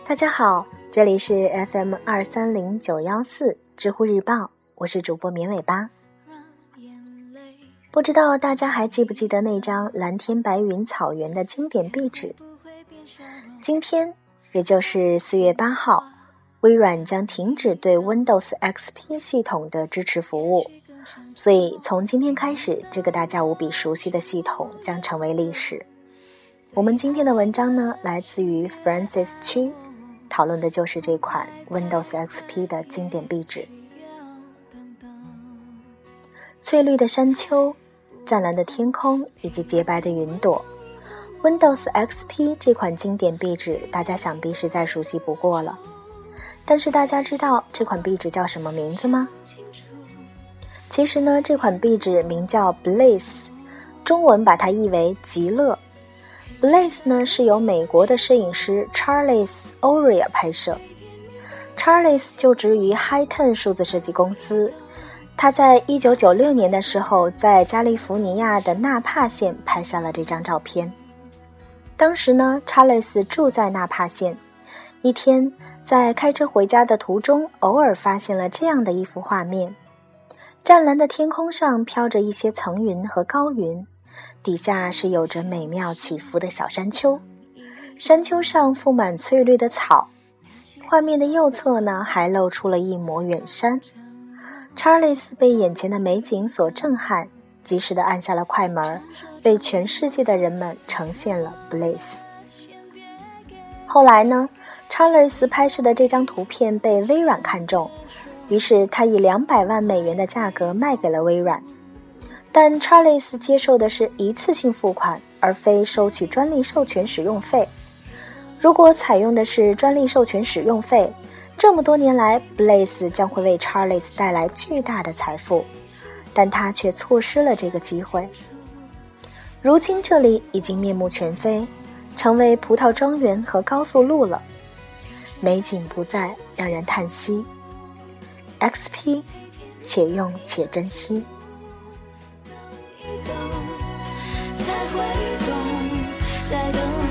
大家好，这里是 FM230914 知乎日报，我是主播绵尾巴。不知道大家还记不记得那张蓝天白云草原的经典壁纸？今天也就是4月8号，微软将停止对 Windows XP 系统的支持服务，所以从今天开始，这个大家无比熟悉的系统将成为历史。我们今天的文章呢，来自于 Francis Chu， 讨论的就是这款 Windows XP 的经典壁纸。翠绿的山丘，湛蓝的天空以及洁白的云朵， Windows XP 这款经典壁纸大家想必是再熟悉不过了。但是大家知道这款壁纸叫什么名字吗？其实呢，这款壁纸名叫 Blaze， 中文把它译为极乐。Blaze 呢是由美国的摄影师 Charles Oria 拍摄。Charles 就职于 Hi-Ten 数字设计公司，他在1996年的时候在加利福尼亚的纳帕县拍下了这张照片。当时呢 Charles 住在纳帕县，一天在开车回家的途中偶尔发现了这样的一幅画面，湛蓝的天空上飘着一些层云和高云，底下是有着美妙起伏的小山丘，山丘上覆满翠绿的草，画面的右侧呢还露出了一抹远山。Charles 被眼前的美景所震撼，及时地按下了快门，为全世界的人们呈现了 Blaze。 后来呢， Charles 拍摄的这张图片被微软看中，于是他以200万美元的价格卖给了微软。但 Charles 接受的是一次性付款，而非收取专利授权使用费。如果采用的是专利授权使用费，这么多年来 Blaze 将会为 Charles 带来巨大的财富，但他却错失了这个机会。如今这里已经面目全非，成为葡萄庄园和高速路了，美景不再，让人叹息。 XP 且用且珍惜。 才会懂，在等